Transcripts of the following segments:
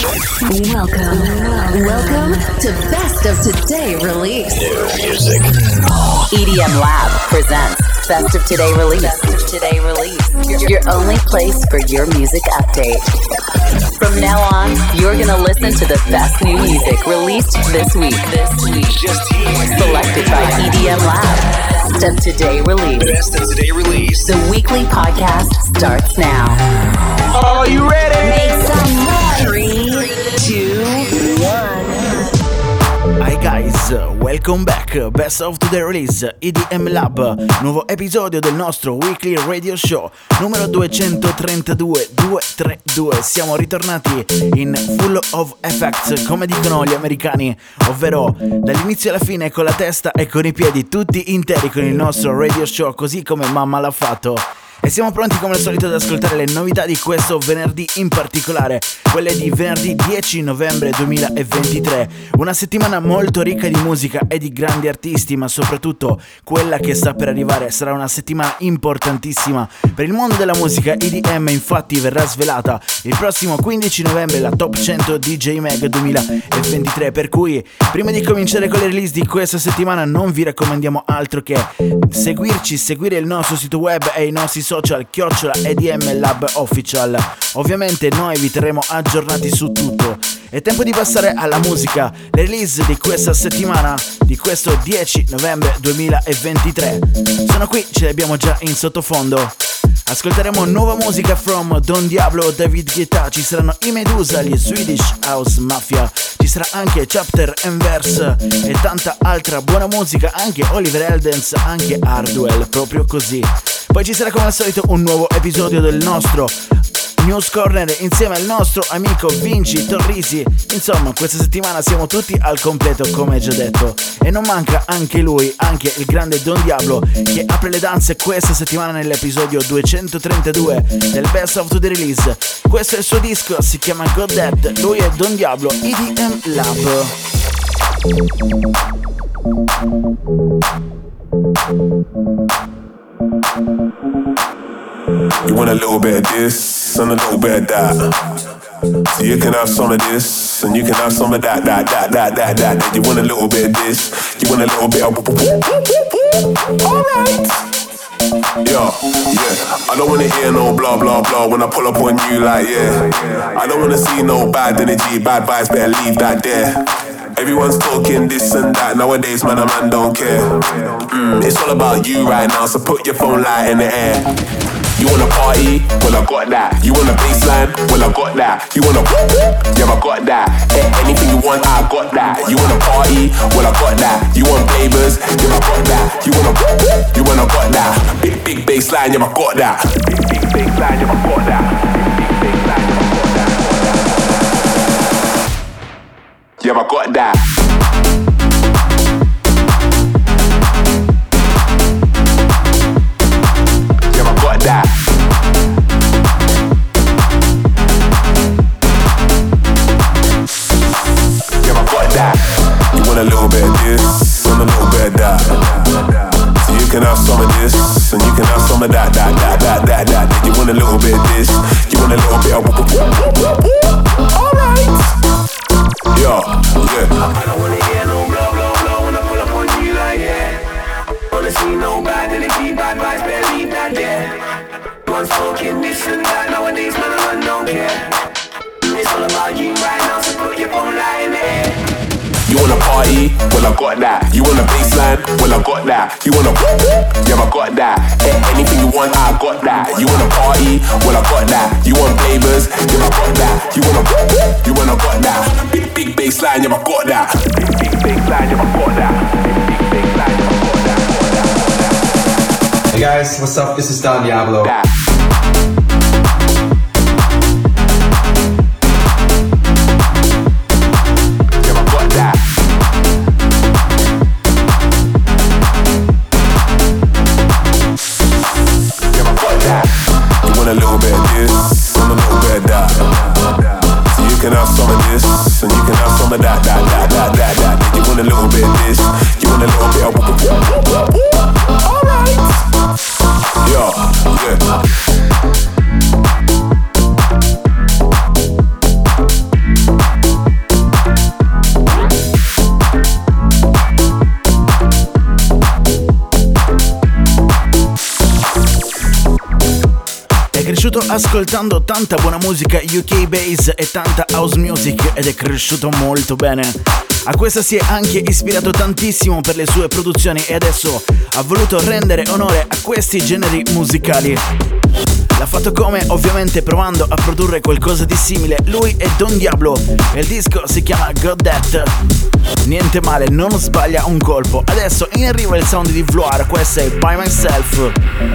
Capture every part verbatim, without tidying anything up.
Welcome, welcome to Best of Today Release. New music. E D M Lab presents Best of Today Release. Best of Today Release. Your only place for your music update. From now on, you're gonna listen to the best new music released this week. This week, Just here. selected by E D M Lab. Best of Today Release. Best of Today Release. The weekly podcast starts now. Are you ready? Make some noise. Three, two, one. Hi guys, welcome back, Best of Today Release, E D M Lab, nuovo episodio del nostro weekly radio show, numero duecentotrentadue, duecentotrentadue, siamo ritornati in full of effects, come dicono gli americani, ovvero dall'inizio alla fine con la testa e con i piedi tutti interi con il nostro radio show, così come mamma l'ha fatto. E siamo pronti come al solito ad ascoltare le novità di questo venerdì, in particolare quelle di venerdì dieci novembre duemilaventitré. Una settimana molto ricca di musica e di grandi artisti, ma soprattutto quella che sta per arrivare sarà una settimana importantissima per il mondo della musica. E D M infatti verrà svelata il prossimo quindici novembre la Top cento D J Mag duemilaventitré, per cui prima di cominciare con le release di questa settimana non vi raccomandiamo altro che seguirci, seguire il nostro sito web e i nostri social chiocciola E D M Lab Official. Ovviamente noi vi terremo aggiornati su tutto. È tempo di passare alla musica, le release di questa settimana, di questo dieci novembre duemilaventitré. Sono qui, ce le abbiamo già in sottofondo. Ascolteremo nuova musica from Don Diablo, David Guetta, ci saranno i Medusa, gli Swedish House Mafia, ci sarà anche Chapter and Verse e tanta altra buona musica, anche Oliver Heldens, anche Hardwell, proprio così. Poi ci sarà come al solito un nuovo episodio del nostro News Corner insieme al nostro amico Vinci Torrisi. Insomma, questa settimana siamo tutti al completo, come già detto. E non manca anche lui, anche il grande Don Diablo, che apre le danze questa settimana nell'episodio duecentotrentadue del Best of the Release. Questo è il suo disco, si chiama God Dead. Lui è Don Diablo, E D M Lab. You want a little bit of this and a little bit of that. So you can have some of this and you can have some of that, that, that, that, that, that. You want a little bit of this, you want a little bit of. Alright. Yeah, yeah. I don't wanna hear no blah blah blah when I pull up on you like yeah. I don't wanna see no bad energy, bad vibes, better leave that there. Everyone's talking this and that nowadays, man, a man don't care. Mm, it's all about you right now, so put your phone light in the air. You wanna party? Well, I got that. You want a baseline? Well, I got that. You wanna whoop whoop? Yeah, I got that. Eh, anything you want, I got that. You wanna party? Well, I got that. You want flavors? Yeah, I got that. You wanna whoop whoop? You wanna got that. Big, big baseline, yeah, I got that. Big, big baseline, yeah, I got that. Big, big baseline, yeah, I got that. Yeah, I got that. Yeah, I got that. Yeah, I got that. You want a little bit of this and a little bit of that. So you can have some of this and you can have some of that, that, that, that, that, that. You want a little bit of this, you want a little bit of. Alright. Yeah, yeah. I don't wanna hear no blah blah blah when I pull up on you like yeah. Wanna see no bad energy, bad vibes, better leave that there. One's talking this and that nowadays, man, I don't care. It's all about you right now, so put your phone light in the air. You wanna party? Well, I got that. You want a baseline? Well, I got that. You wanna whoop whoop? Yeah, I got that. Eh, anything you want, I got that. You wanna party? Well, I got that. You want flavors? Yeah, I got that. You wanna whoop whoop? You wanna got that. Big, big baseline, yeah, I got that. Big, big baseline, yeah, I got that. Big, big baseline, yeah, I got that. Hey guys, what's up? This is Don Diablo. That. A little bit of this and a little bit of that. So you can have some of this and you can have some of that, that, that, that, that, that. You want a little bit of this, you want a little bit of. Alright. Yeah, yeah. ascoltando tanta buona musica U K bass e tanta house music ed è cresciuto molto bene. A questa si è anche ispirato tantissimo per le sue produzioni e adesso ha voluto rendere onore a questi generi musicali. L'ha fatto come? Ovviamente provando a produrre qualcosa di simile. Lui è Don Diablo e il disco si chiama Got That. Niente male, non sbaglia un colpo. Adesso in arrivo il sound di Vloir, questo è By Myself.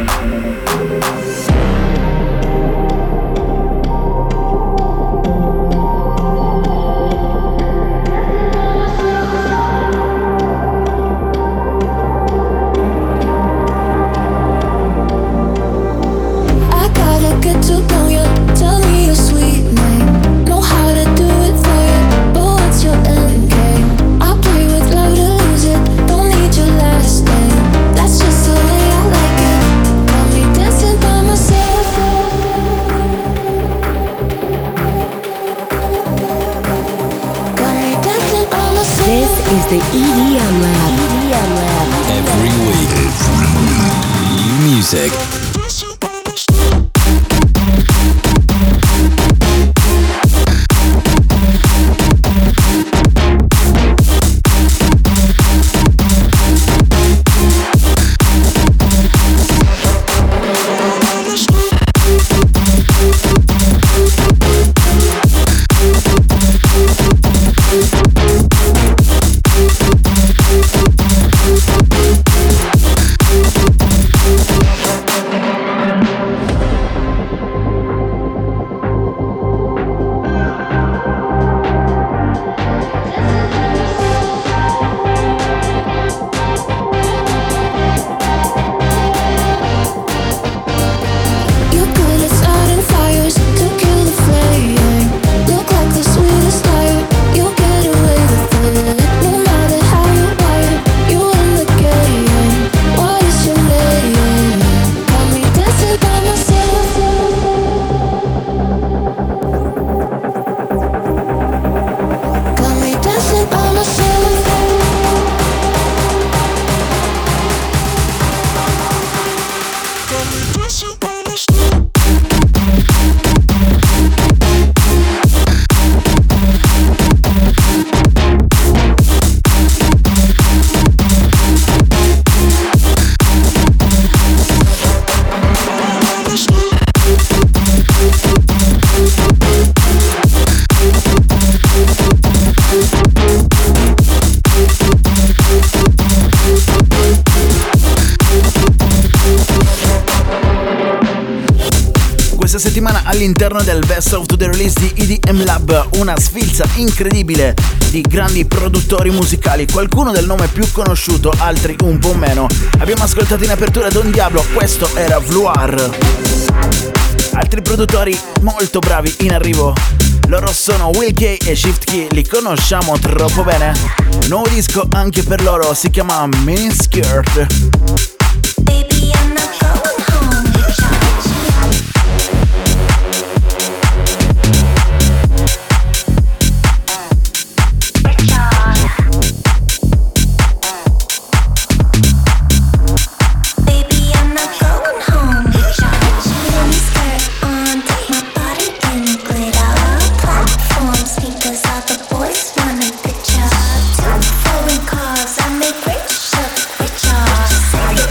The E D M Lab. E D M Lab. Every week. Every week. New music. Settimana all'interno del Best of the Release di E D M Lab, una sfilza incredibile di grandi produttori musicali, qualcuno del nome più conosciuto, altri un po' meno. Abbiamo ascoltato in apertura Don Diablo, questo era Vloir. Altri produttori molto bravi in arrivo, loro sono Will K e Shift Key, li conosciamo troppo bene. Nuovo disco anche per loro, si chiama Mini Skirt. Baby, I'm not going home to charge. Cause I make rich, richer.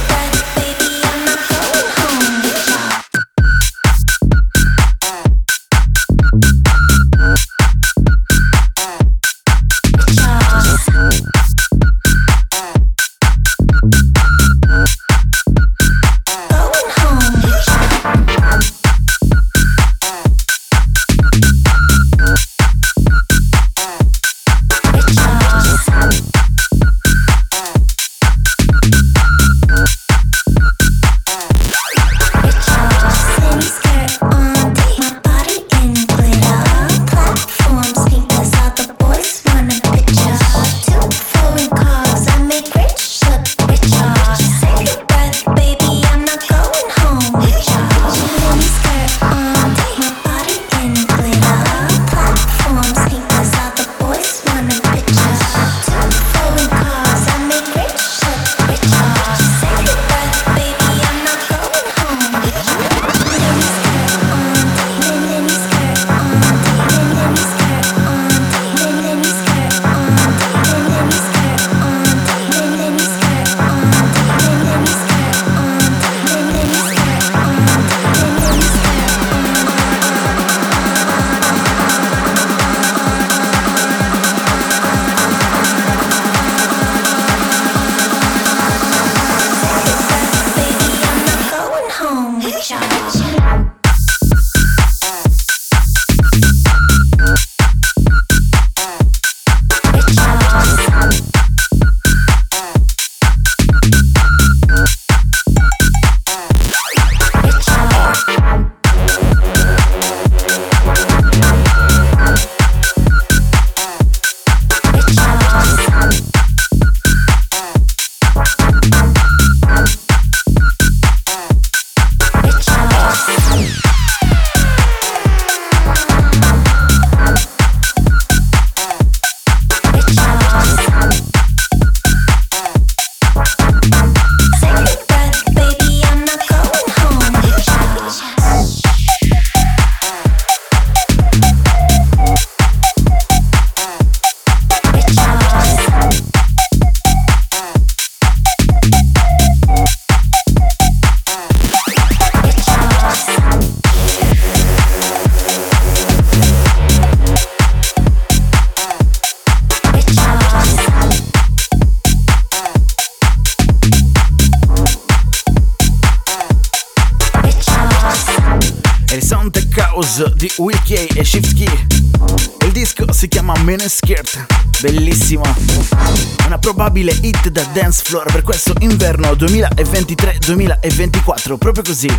House di Will K e Shift Key. Il disco si chiama Miniskirt, bellissimo, una probabile hit da dance floor per questo inverno duemilaventitré duemilaventiquattro, proprio così.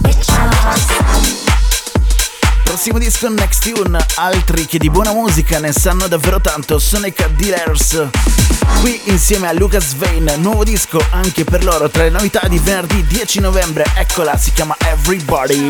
Prossimo disco, Next Tune, altri che di buona musica ne sanno davvero tanto, sono i Cat Dealers. Qui insieme a Lucas Vane, nuovo disco anche per loro, tra le novità di venerdì dieci novembre, eccola, si chiama Everybody.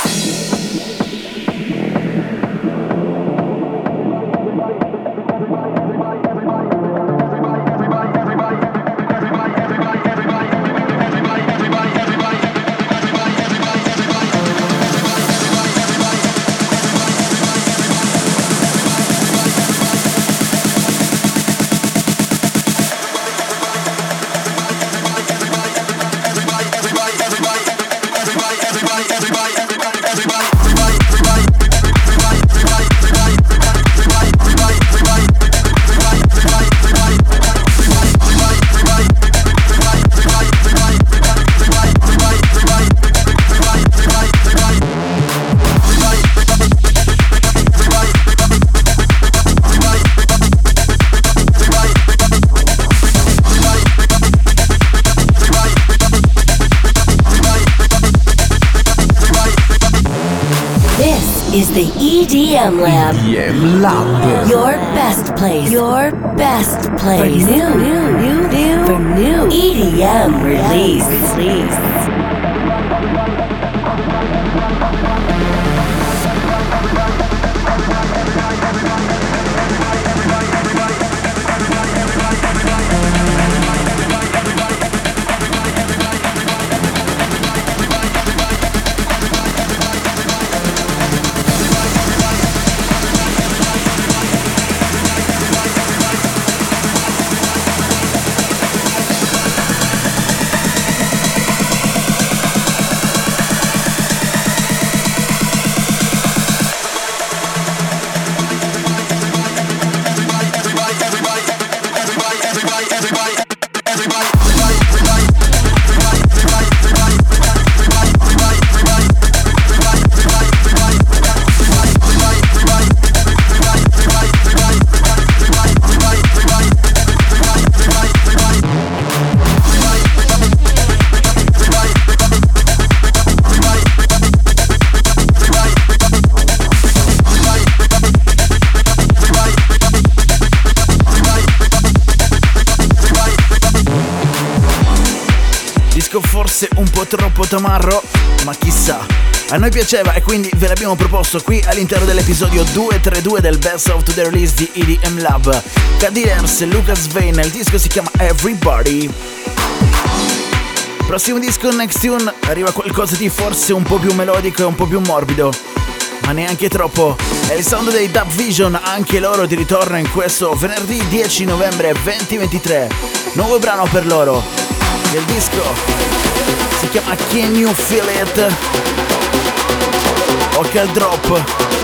Is the E D M Lab. E D M Lab. Your best place. Your best place. For new, new, new, new, for new E D M release. Release. Forse un po' troppo tamarro, ma chissà, a noi piaceva e quindi ve l'abbiamo proposto qui all'interno dell'episodio duecentotrentadue del Best of the Release di E D M Lab. Cat Dealers, Lucas Vane, il disco si chiama Everybody. Prossimo disco, Next Tune, arriva qualcosa di forse un po' più melodico e un po' più morbido, ma neanche troppo. È il sound dei Dub Vision, anche loro di ritorno in questo venerdì dieci novembre duemilaventitré. Nuovo brano per loro. Il disco si chiama Can You Feel It? Occhio al drop.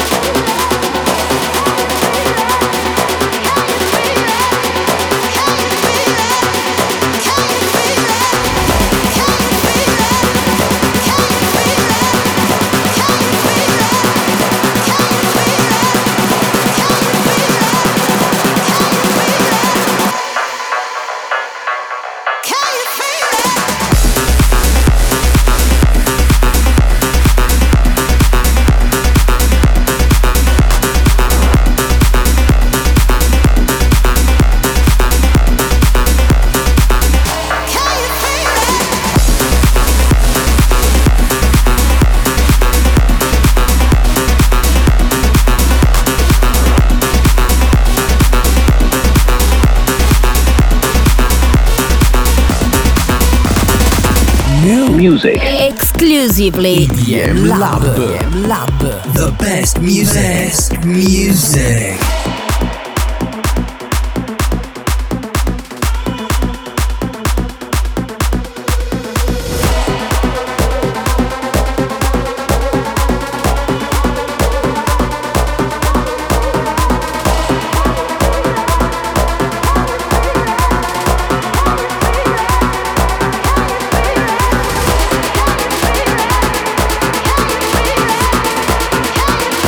Music. Exclusively E D M Lab. E D M Lab. The best music. Best music. Can you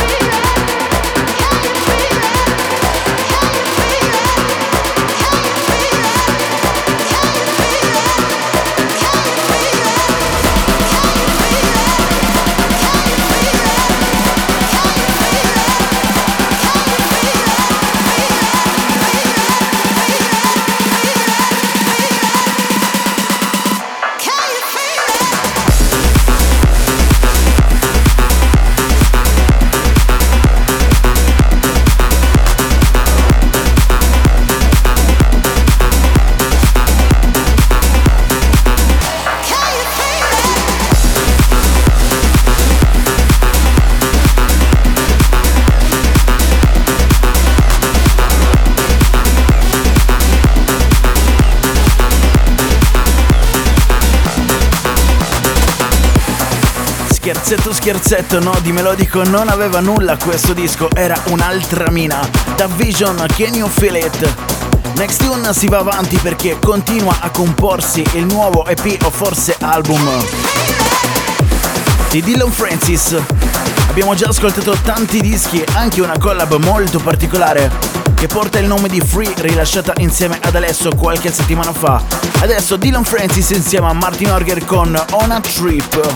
Scherzetto scherzetto, no, di melodico non aveva nulla questo disco, era un'altra mina. Da Vision, Can You Feel It? Next Tune si va avanti perché continua a comporsi il nuovo E P o forse album di Dillon Francis. Abbiamo già ascoltato tanti dischi, anche una collab molto particolare che porta il nome di Free, rilasciata insieme ad Alesso qualche settimana fa. Adesso Dillon Francis insieme a Martin Orger con On a Trip.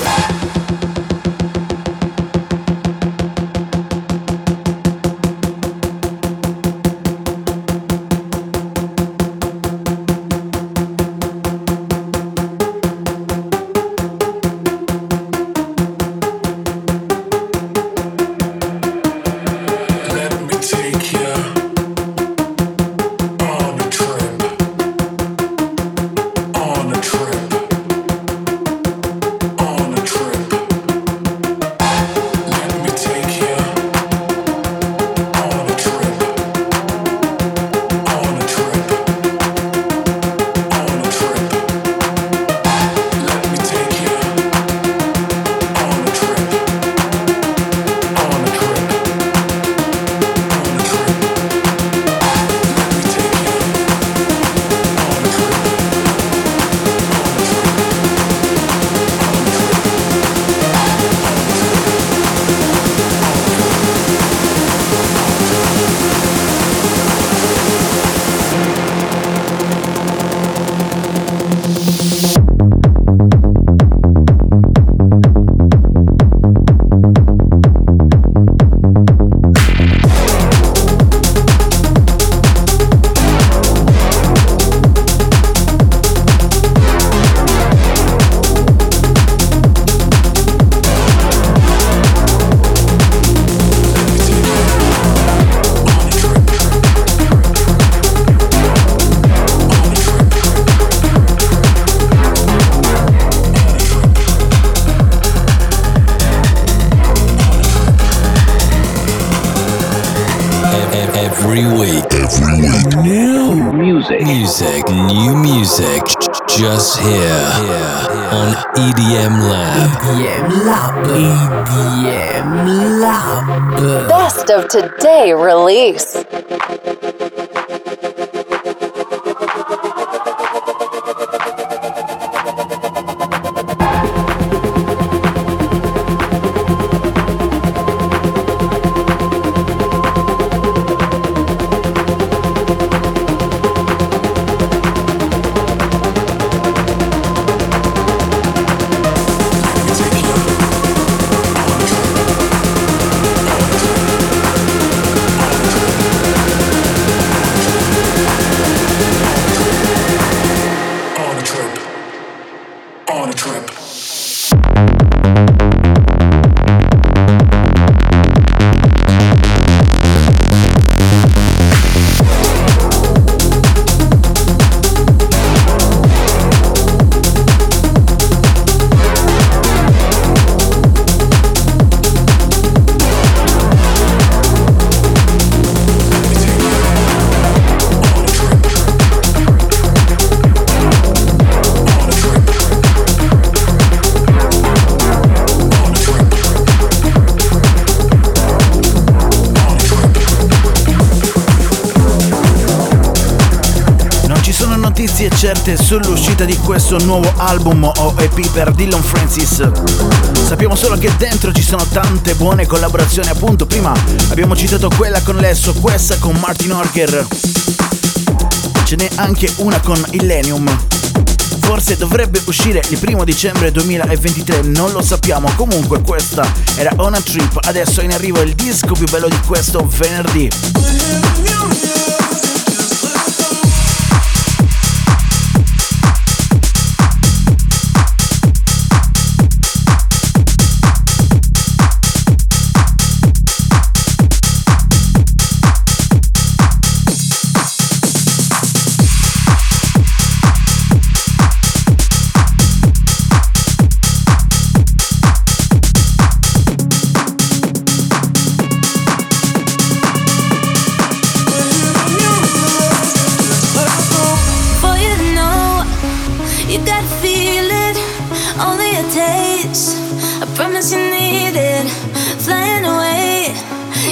Every week, every week, new music, music, new music, just here, here on E D M Lab. E D M Lab. E D M Lab. Best of today release. notizie certe sull'uscita di questo nuovo album o E P per Dillon Francis. Sappiamo solo che dentro ci sono tante buone collaborazioni, appunto prima abbiamo citato quella con Lesso, questa con Martin Orger, ce n'è anche una con Illenium. Forse dovrebbe uscire il primo dicembre duemilaventitré, non lo sappiamo. Comunque questa era On a Trip, adesso è in arrivo il disco più bello di questo venerdì.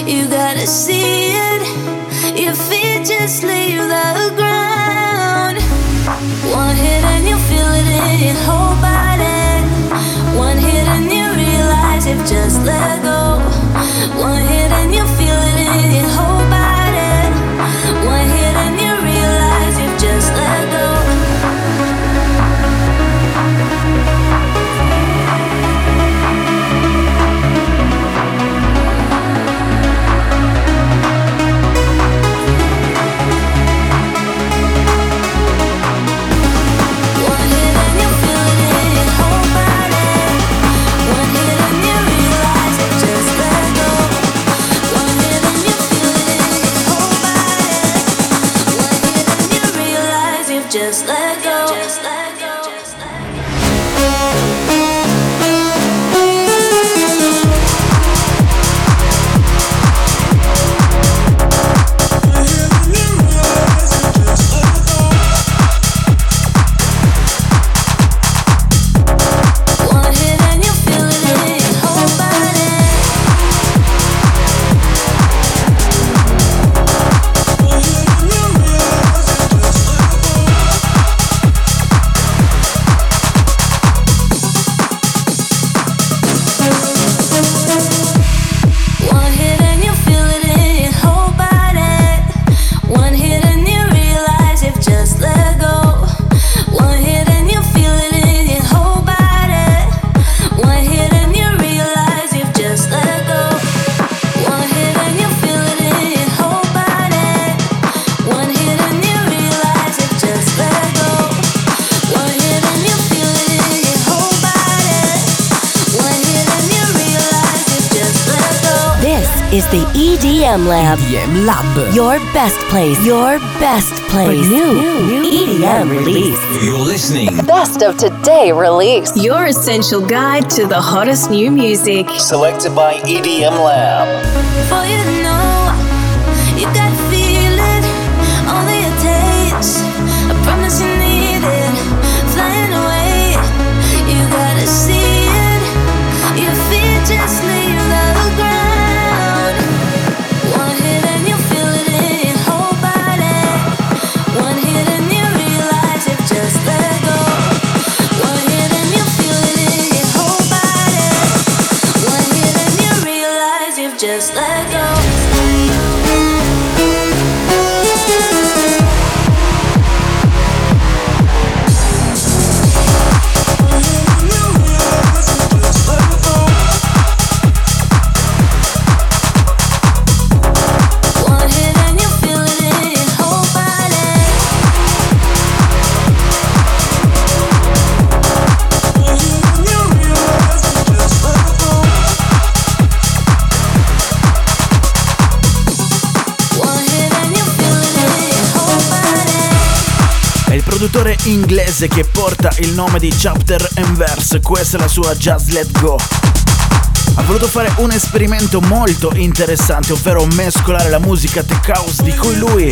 You gotta see it. Your feet just leave the ground. One hit and you feel it in your whole body. One hit and you realize you've just let go. One hit and you feel it in your whole body. One hit and you realize you've just let go. Just let go. Just let go. Just let one hit and you feel it in your whole body. Is the E D M Lab. E D M Lab. Your best place. Your best place. For new, new E D M release. You're listening. Best of Today release. Your essential guide to the hottest new music. Selected by E D M Lab. For you to know, you gotta feel it. Only a taste. I promise you need it. Flying away, you gotta see it. Your feet just leave the ground. One hit and you feel it in your whole body. One hit and you realize you've just let go. One hit and you feel it in your whole body. One hit and you realize you've just let go. Produttore inglese che porta il nome di Chapter and Verse, questa è la sua Just Let Go. Ha voluto fare un esperimento molto interessante, ovvero mescolare la musica tech house di cui lui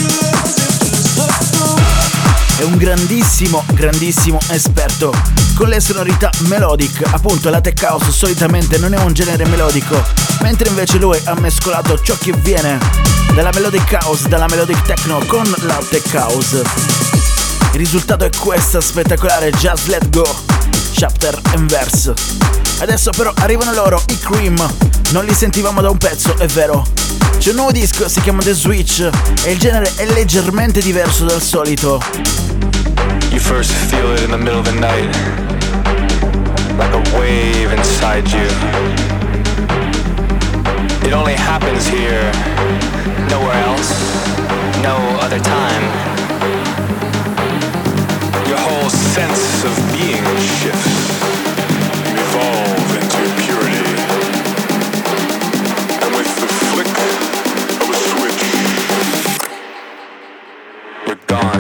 è un grandissimo, grandissimo esperto, con le sonorità melodic. Appunto, la tech house solitamente non è un genere melodico, mentre invece lui ha mescolato ciò che viene dalla melodic house, dalla melodic techno con la tech house. Il risultato è questa spettacolare Just Let Go, Chapter and Verse. Adesso però arrivano loro, i Cream. Non li sentivamo da un pezzo, è vero. C'è un nuovo disco, si chiama The Switch e il genere è leggermente diverso dal solito. You first feel it in the middle of the night, like a wave inside you. It only happens here, nowhere else, no other time. Your whole sense of being shifts. You evolve into purity. And with the flick of a switch, you're gone.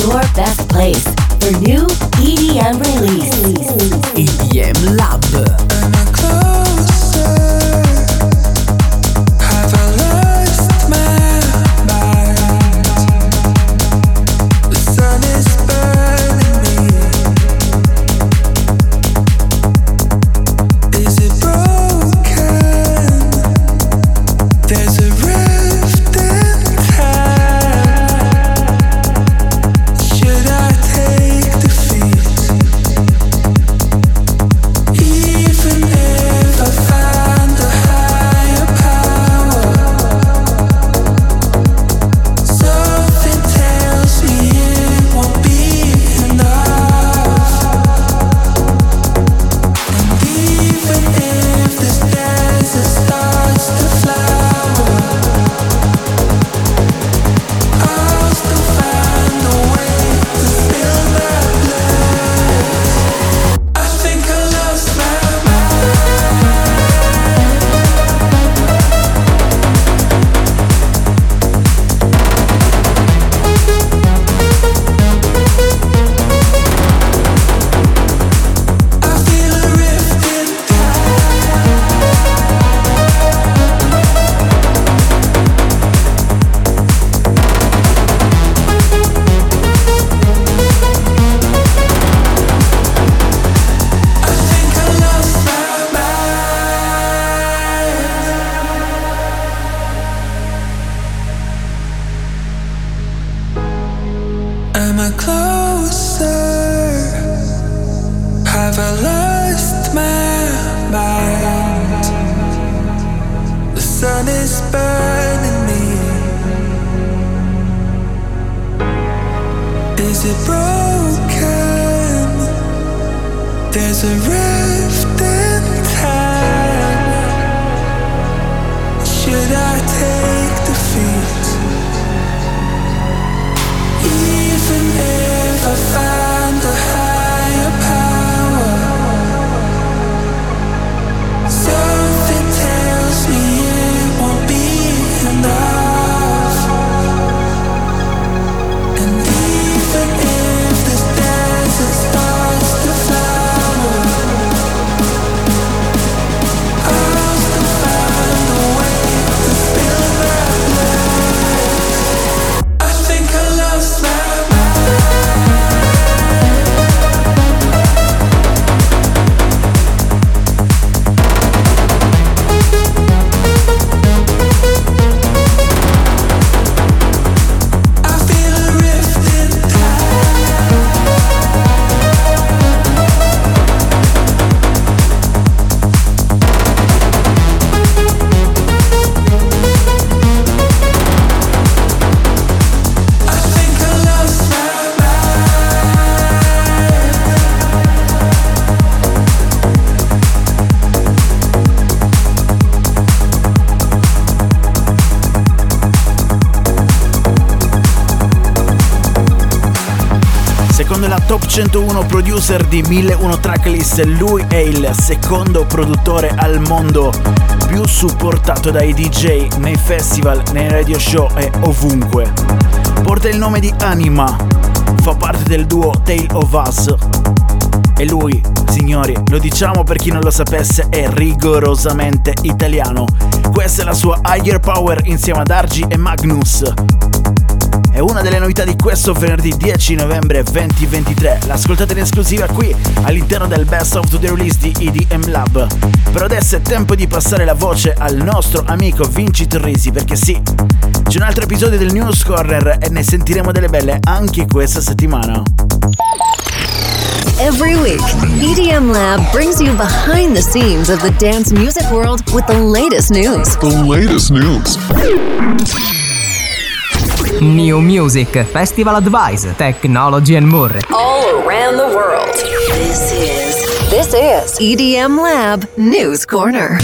your best place for new E D M release. E D M Lab. Top centouno producer di mille uno Tracklist, lui è il secondo produttore al mondo più supportato dai D J nei festival, nei radio show e ovunque. Porta il nome di Anima, fa parte del duo Tale of Us e lui, signori, lo diciamo per chi non lo sapesse, è rigorosamente italiano. Questa è la sua Higher Power insieme ad Argy e Magnus. È una delle novità di questo venerdì dieci novembre duemilaventitré. L'ascoltate in esclusiva qui all'interno del Best of the Release di E D M Lab. Però adesso è tempo di passare la voce al nostro amico Vinci Torrisi, perché sì, c'è un altro episodio del News Corner e ne sentiremo delle belle anche questa settimana. Every week, E D M Lab brings you behind the scenes of the dance music world with the latest news. The latest news. New Music, Festival Advice, Technology and more. All around the world. This is This is E D M Lab News Corner.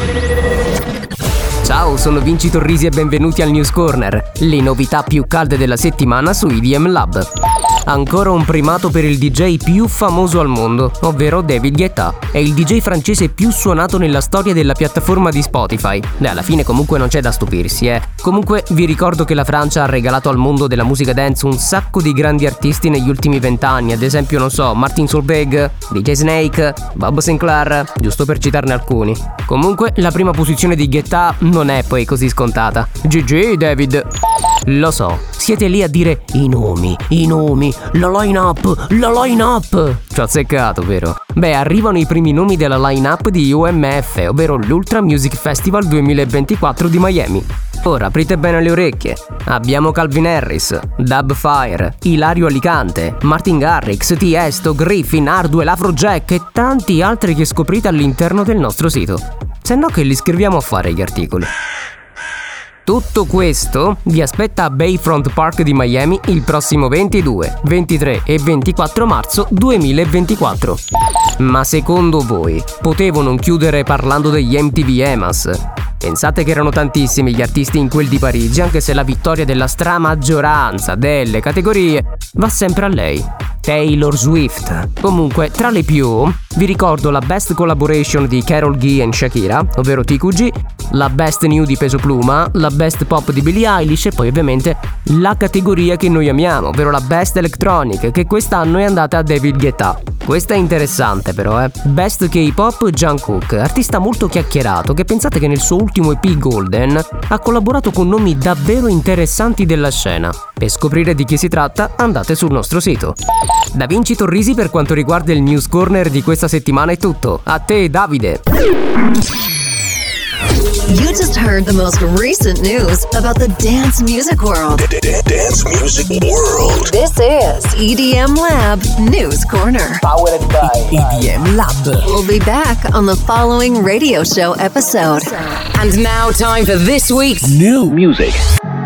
Ciao, sono Vinci Torrisi e benvenuti al News Corner, le novità più calde della settimana su E D M Lab. ancora un primato per il D J più famoso al mondo, ovvero David Guetta. È il D J francese più suonato nella storia della piattaforma di Spotify. Beh, alla fine comunque non c'è da stupirsi, eh. Comunque vi ricordo che la Francia ha regalato al mondo della musica dance un sacco di grandi artisti negli ultimi vent'anni, ad esempio, non so, Martin Solveig, D J Snake, Bob Sinclair, giusto per citarne alcuni. Comunque, la prima posizione di Guetta non è poi così scontata. G G David. Lo so, siete lì a dire i nomi, i nomi, la line-up, la line-up. Ci ho azzeccato, vero? Beh, arrivano i primi nomi della line-up di U M F, ovvero l'Ultra Music Festival duemilaventiquattro di Miami. Ora aprite bene le orecchie. Abbiamo Calvin Harris, Dubfire, Ilario Alicante, Martin Garrix, Tiesto, Griffin, Hardwell, Afrojack e tanti altri che scoprite all'interno del nostro sito. Se no, che li scriviamo a fare gli articoli. Tutto questo vi aspetta a Bayfront Park di Miami il prossimo ventidue, ventitré e ventiquattro marzo duemilaventiquattro. Ma secondo voi, potevo non chiudere parlando degli M T V EMAs? Pensate che erano tantissimi gli artisti in quel di Parigi, anche se la vittoria della stramaggioranza delle categorie va sempre a lei, Taylor Swift. Comunque, tra le più, vi ricordo la Best Collaboration di Karol G e Shakira, ovvero T Q G, la Best New di Peso Pluma, la Best Pop di Billie Eilish e poi ovviamente la categoria che noi amiamo, ovvero la Best Electronic, che quest'anno è andata a David Guetta. Questa è interessante però, eh. Best K-Pop Jungkook, artista molto chiacchierato che pensate che nel suo ultimo E P Golden ha collaborato con nomi davvero interessanti della scena. Per scoprire di chi si tratta andate sul nostro sito. Da Vinci Torrisi per quanto riguarda il News Corner di questa settimana è tutto. A te Davide! You just heard the most recent news about the dance music world. Dance music world. This is E D M Lab News Corner. Powered by E D M Lab. We'll be back on the following radio show episode. And now, time for this week's New music.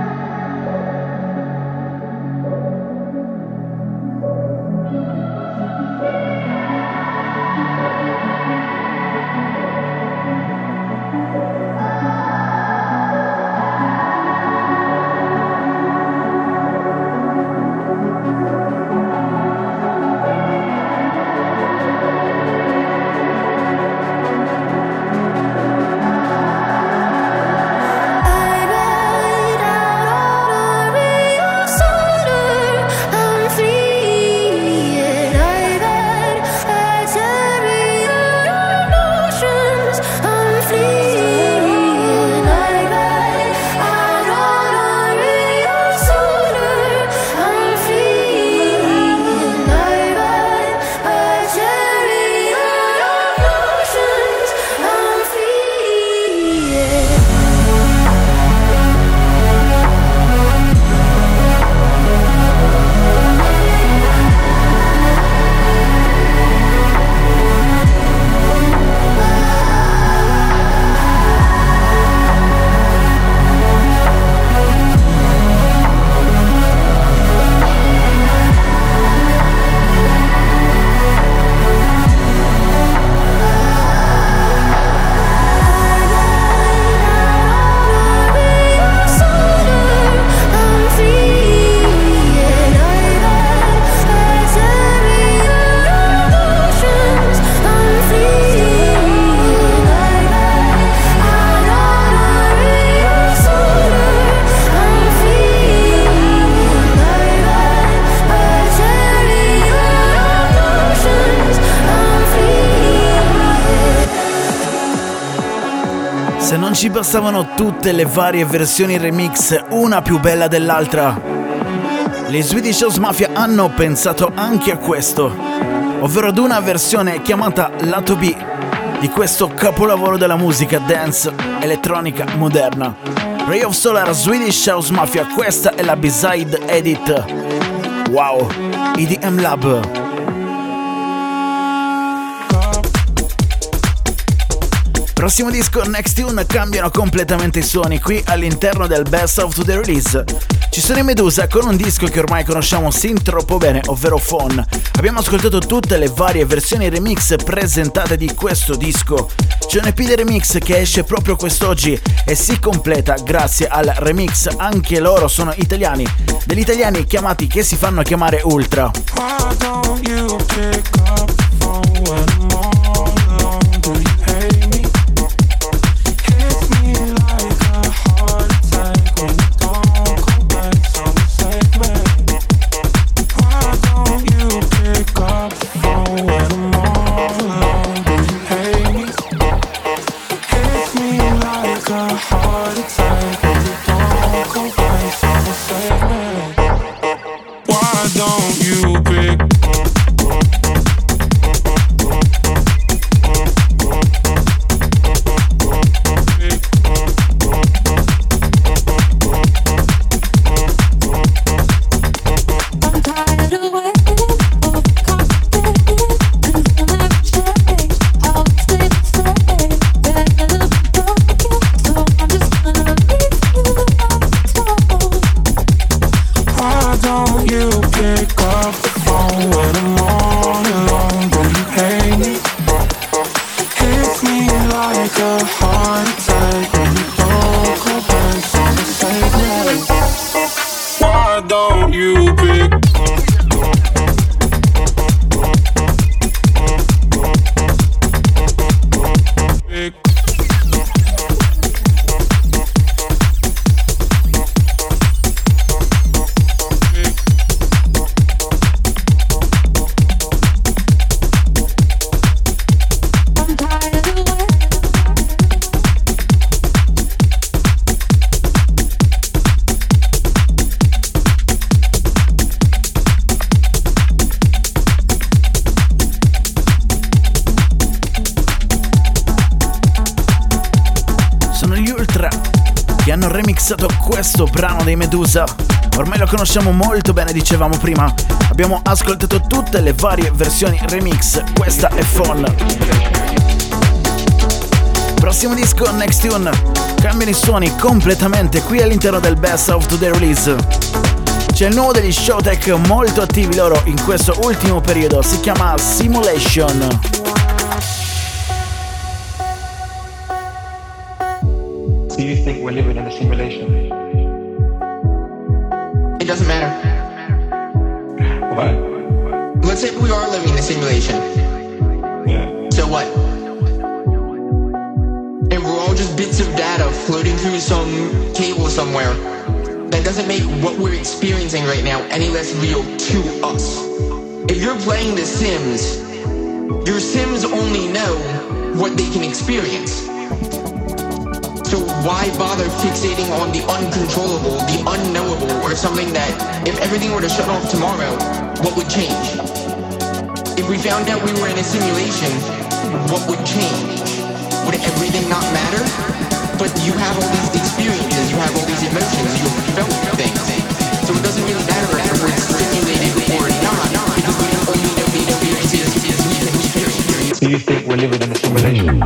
Se non ci bastavano tutte le varie versioni remix, una più bella dell'altra, gli Swedish House Mafia hanno pensato anche a questo, ovvero ad una versione chiamata Lato B di questo capolavoro della musica dance elettronica moderna. Ray of Solar Swedish House Mafia, questa è la B-side edit. Wow, E D M Lab. Prossimo disco, Next Tune, cambiano completamente i suoni qui all'interno del Best of the Release. Ci sono i Medusa con un disco che ormai conosciamo sin troppo bene, ovvero Phone. Abbiamo ascoltato tutte le varie versioni remix presentate di questo disco. C'è un E P di remix che esce proprio quest'oggi e si completa grazie al remix, anche loro sono italiani, degli italiani chiamati che si fanno chiamare Ultra. Why don't you pick up the phone when I'm all alone? Do you hate me? Hit me like a heart attack when you don't come back. So save me. Why don't you pick up the phone when I'm all alone? Do you hate me? Hit me like a heart attack when you don't come back. So save me. Why don't you pick questo brano dei Medusa. Ormai lo conosciamo molto bene, dicevamo prima. Abbiamo ascoltato tutte le varie versioni remix. Questa è Phone. Prossimo disco, Next Tune. Cambiano i suoni completamente qui all'interno del Best of the Release. C'è il nuovo degli Showtek, molto attivi loro in questo ultimo periodo. Si chiama Simulation. Do you think we're living in a simulation? It doesn't matter. Why? Let's say we are living in a simulation. Yeah. So what? And we're all just bits of data floating through some cable somewhere. That doesn't make what we're experiencing right now any less real to us. If you're playing The Sims, your Sims only know what they can experience. So why bother fixating on the uncontrollable, the unknowable, or something that, if everything were to shut off tomorrow, what would change? If we found out we were in a simulation, what would change? Would everything not matter? But you have all these experiences, you have all these emotions, you felt things. So it doesn't really matter if we're stimulated or not, because we don't only know the experiences we can experience. Do you think we're living in a simulation?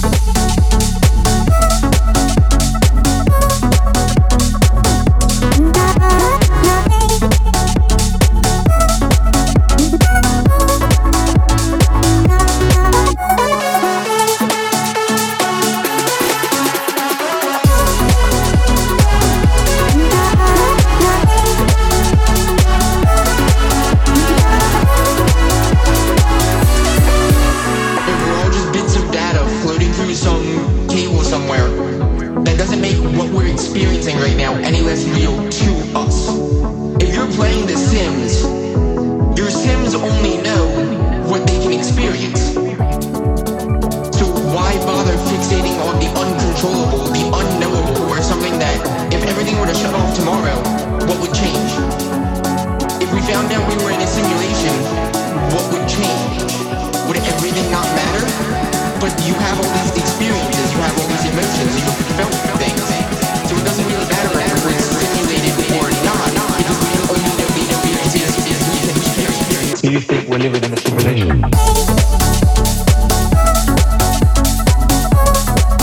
Do you think we're living in a simulation?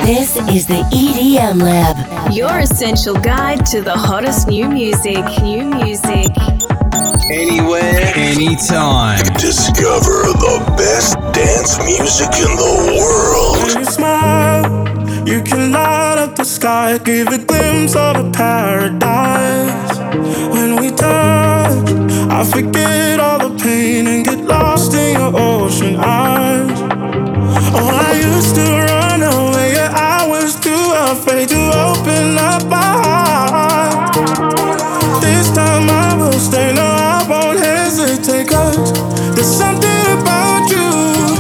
This is the E D M Lab. Your essential guide to the hottest new music. New music. Anywhere, anytime. Discover the best dance music in the world. When you smile, you can light up the sky, give a glimpse of a paradise. When we touch, I forget all the pain and get lost in your ocean eyes. Oh, I used to run away, yeah, I was too afraid to open up my heart. This time I will stay, no, I won't hesitate, 'cause there's something about you.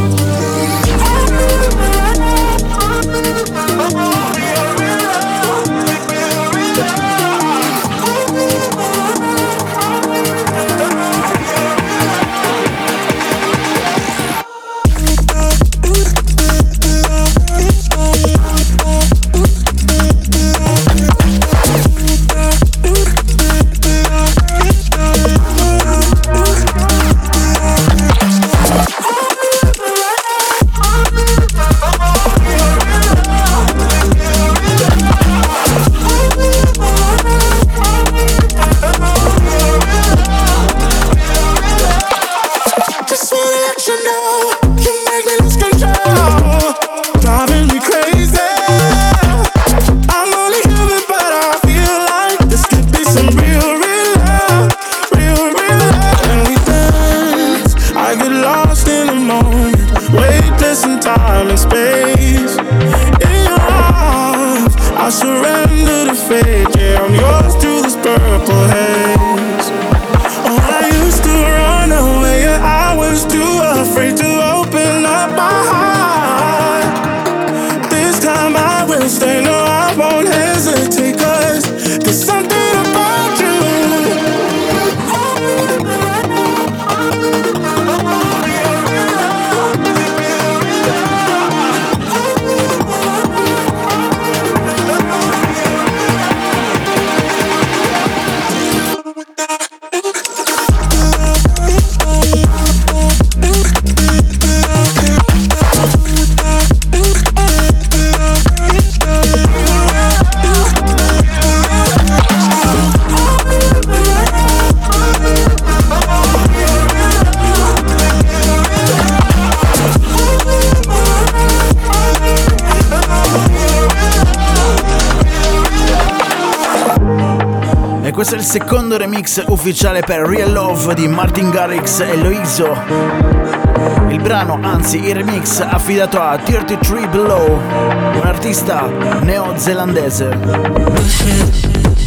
Questo è il secondo remix ufficiale per Real Love di Martin Garrix e Loizo. Il brano, anzi il remix, affidato a trentatré Below, un artista neozelandese.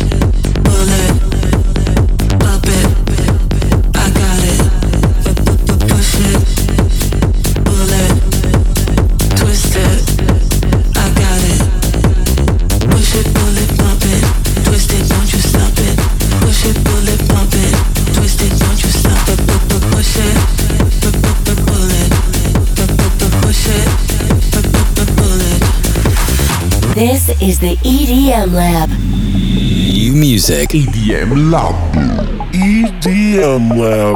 This is the E D M Lab. New music. E D M Lab. E D M Lab.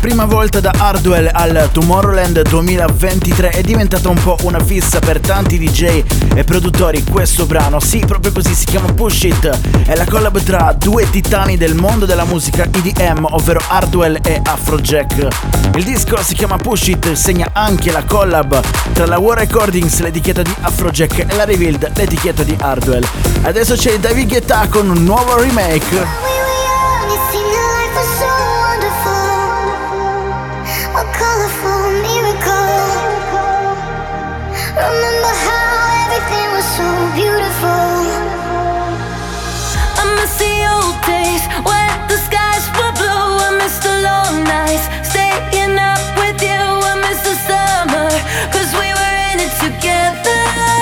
prima volta da Hardwell al Tomorrowland duemilaventitré è diventata un po' una fissa per tanti D J e produttori. Questo brano, sì, proprio così, si chiama Push It, è la collab tra due titani del mondo della musica E D M, ovvero Hardwell e Afrojack. Il disco si chiama Push It, segna anche la collab tra la War Recordings, l'etichetta di Afrojack, e la Revealed, l'etichetta di Hardwell. Adesso c'è David Guetta con un nuovo remake. Remember how everything was so beautiful. I miss the old days when the skies were blue. I miss the long nights staying up with you. I miss the summer, cause we were in it together.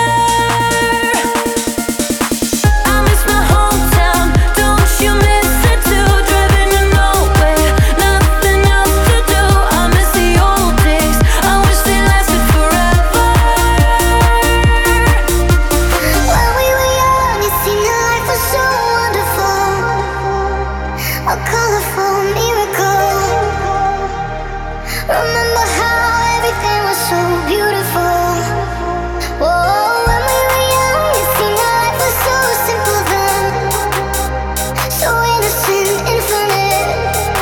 I miss my hometown, don't you miss it too? Driving to nowhere, nothing else to do. I miss the old days, I wish they lasted forever. A colorful miracle. Remember how everything was so beautiful. Whoa, when we were young, it seemed life was so simple then, so innocent, infinite.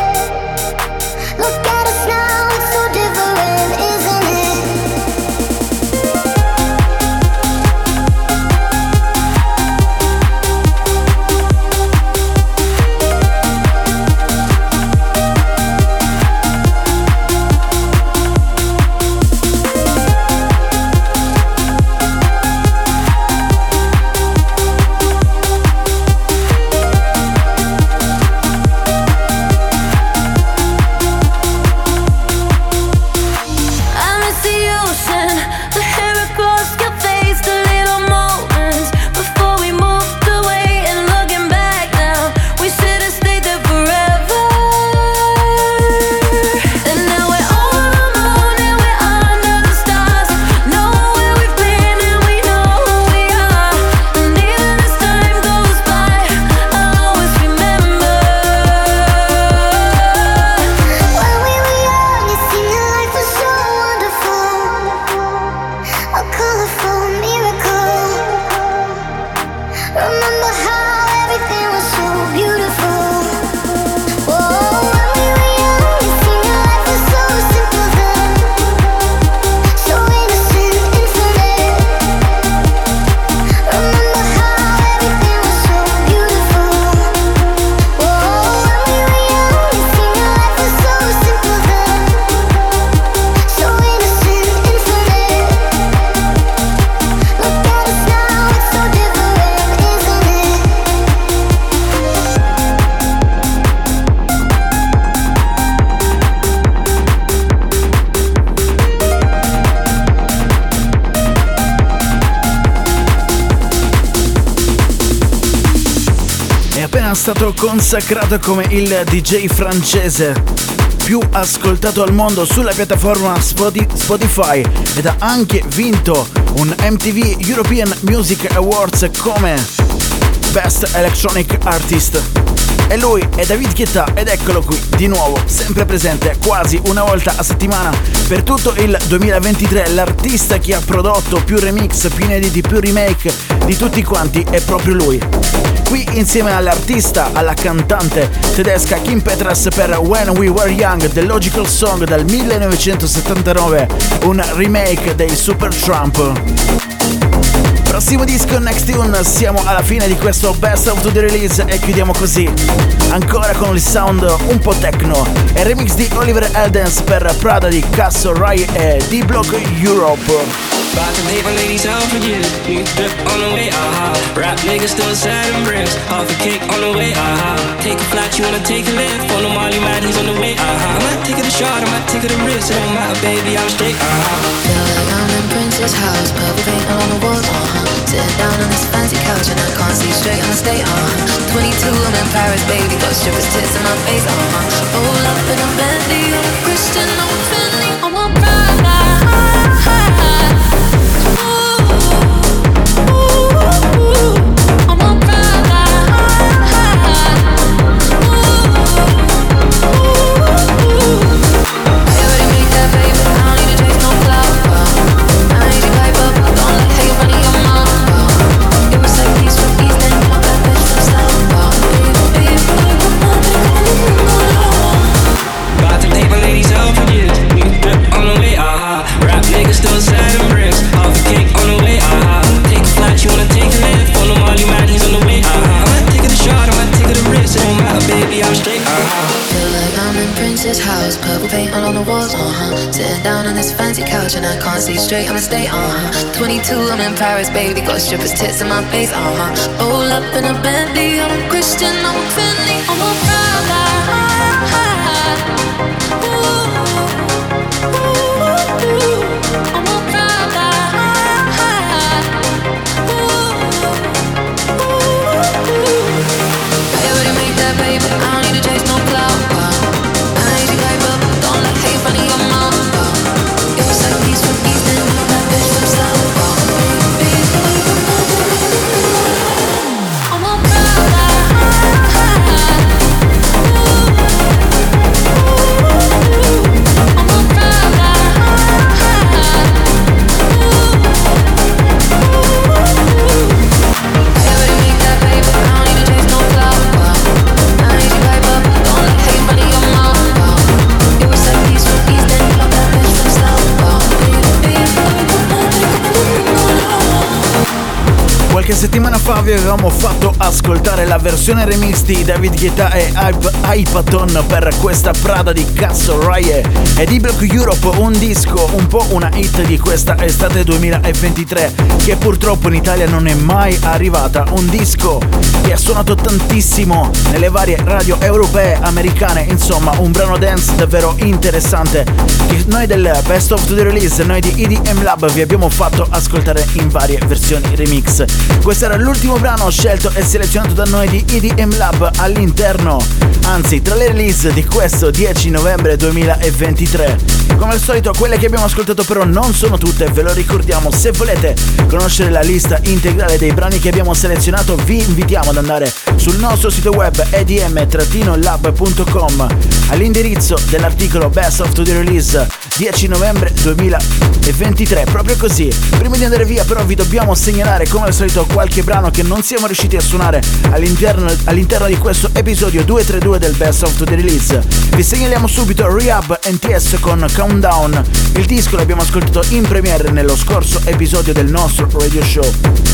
Look at us now, it's so different, isn't it? Stato consacrato come il D J francese più ascoltato al mondo sulla piattaforma Spotify ed ha anche vinto un M T V European Music Awards come Best Electronic Artist. E lui è David Guetta ed eccolo qui di nuovo, sempre presente quasi una volta a settimana per tutto il duemilaventitré. L'artista che ha prodotto più remix, più inediti, più remake di tutti quanti è proprio lui. Qui insieme all'artista, alla cantante tedesca Kim Petras per When We Were Young, The Logical Song del millenovecentosettantanove, un remake dei Supertramp. Prossimo disco, Next Tune, siamo alla fine di questo Best of the Release e chiudiamo così, ancora con il sound un po' techno, e remix di Oliver Eldens per Prada di Casso Rai e D-Block Europe. About to pay my ladies out for you. New drip on the way, aha. Rap niggas still sad and bricks. Half a cake on the way, aha. Take a flight, you wanna take a lift. On the Molly mad, he's on the way, aha. I might take it a shot, I might take it a risk. It don't matter, baby, I'm straight, aha. Feel like I'm in Prince's house. Purple paint along the walls, uh-huh. Sitting down on this fancy couch and I can't see straight, I'ma stay, uh-huh. twenty-two, I'm in Paris, baby. Got strippers' tits in my face, uh-huh. Roll up in a Bentley, I'm a Christian, I'm a Fendi, I'm a Prada. walls, uh-huh. Sitting down on this fancy couch and I can't see straight, I'ma stay, uh-huh. twenty-two, I'm in Paris, baby, got strippers' tits in my face, uh-huh. Roll up in a Bentley, I'm a Christian, I'm a friendly, I'm a Prada. Ooh, ooh, I'm a Prada. Ooh, ooh, I already made that paper, I don't need to chase no clout. I need you hype up, don't let hate run in your mouth. It was like peace from East and you that bitch from South. I'm a Prada. Qualche settimana fa vi avevamo fatto ascoltare la versione remix di David Guetta e Hypaton per questa Prada di Castle Rye e di Block Europe, un disco un po' una hit di questa estate duemilaventitré che purtroppo in Italia non è mai arrivata, un disco che ha suonato tantissimo nelle varie radio europee, americane, insomma un brano dance davvero interessante che noi del Best of the Release, noi di E D M Lab vi abbiamo fatto ascoltare in varie versioni remix. Questo era l'ultimo brano scelto e selezionato da noi di E D M Lab all'interno, anzi tra le release di questo dieci novembre duemilaventitré. Come al solito quelle che abbiamo ascoltato però non sono tutte, ve lo ricordiamo. Se volete conoscere la lista integrale dei brani che abbiamo selezionato vi invitiamo ad andare sul nostro sito web e d m lab punto com all'indirizzo dell'articolo Best of the Release dieci novembre duemilaventitré. Proprio così, prima di andare via però vi dobbiamo segnalare come al solito qualche brano che non siamo riusciti a suonare all'interno, all'interno di questo episodio duecentotrentadue del Best of the Release. Vi segnaliamo subito Rehab N T S con Countdown, il disco l'abbiamo ascoltato in premiere nello scorso episodio del nostro radio show.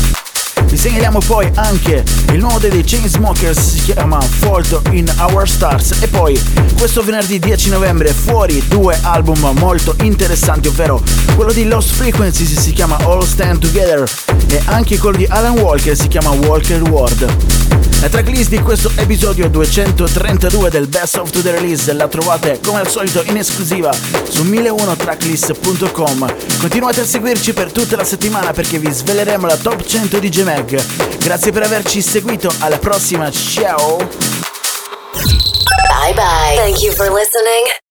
Vi segnaliamo poi anche il nuovo dei Chainsmokers, si chiama Fault in Our Stars, e poi questo venerdì dieci novembre fuori due album molto interessanti, ovvero quello di Lost Frequencies si chiama All Stand Together e anche quello di Alan Walker si chiama Walker World. La tracklist di questo episodio duecentotrentadue del Best of the Release la trovate come al solito in esclusiva su mille uno tracklist punto com. Continuate a seguirci per tutta la settimana perché vi sveleremo la top cento di G-Mag. Grazie per averci seguito, alla prossima, ciao! Bye bye. Thank you for listening.